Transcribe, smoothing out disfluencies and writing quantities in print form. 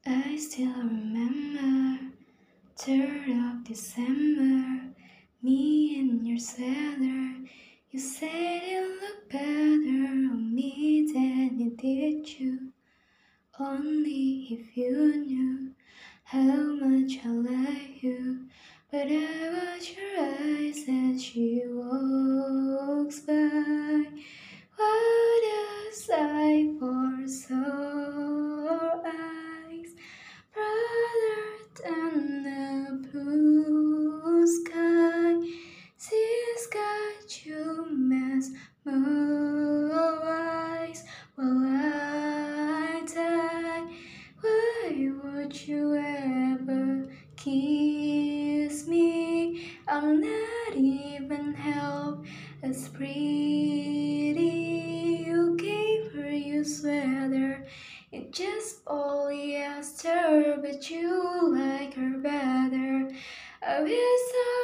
I still remember 3rd of December, me in your sweater. You said it looked better on me than it did you. Only if you knew how much I like you. But I watch your eyes as she walks by. What a sight for sore eyes, brighter than the blue sky. She's got you mesmerized while I die. Why would you ever kiss me? I'm not even half as pretty. You gave her your sweater. It's just polyester, but you like her better. I wish